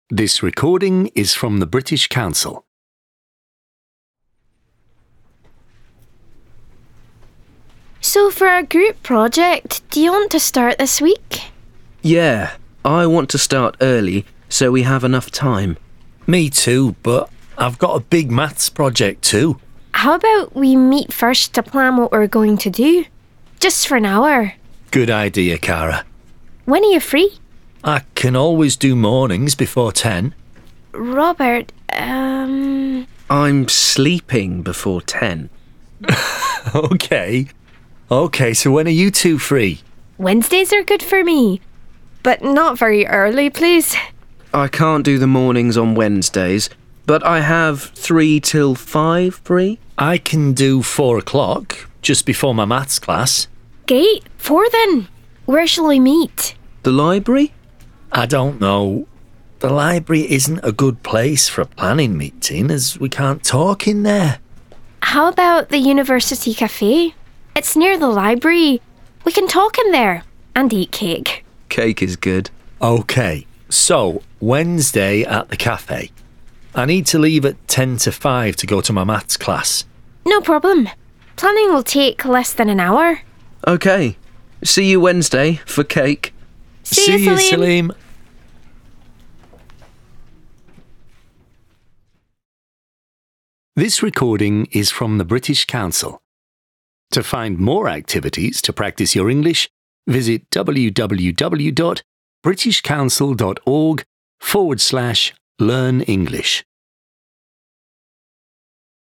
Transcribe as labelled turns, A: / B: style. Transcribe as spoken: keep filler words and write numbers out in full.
A: This recording is from the British Council.
B: So for our group project, do you want to start this week?
C: Yeah, I want to start early so we have enough time.
D: Me too, but I've got a big maths project too.
B: How about we meet first to plan what we're going to do? Just for an hour.
D: Good idea, Cara.
B: When are you free?
D: I can always do mornings before ten.
B: Robert, um...
C: I'm sleeping before ten.
D: Okay. Okay, so when are you two free?
B: Wednesdays are good for me. But not very early, please.
C: I can't do the mornings on Wednesdays, but I have three till five free.
D: I can do four o'clock, just before my maths class.
B: Great. Four then. Where shall we meet?
C: The library?
D: I don't know. The library isn't a good place for a planning meeting, as we can't talk in there.
B: How about the University Cafe? It's near the library. We can talk in there and eat cake.
C: Cake is good.
D: Okay, so Wednesday at the cafe. I need to leave at ten to five to go to my maths class.
B: No problem. Planning will take less than an hour.
C: Okay. See you Wednesday for cake.
B: See,
D: See
B: you,
D: you,
B: Salim.
D: Salim.
A: This recording is from the British Council. To find more activities to practice your English, visit www.britishcouncil.org forward slash learn English.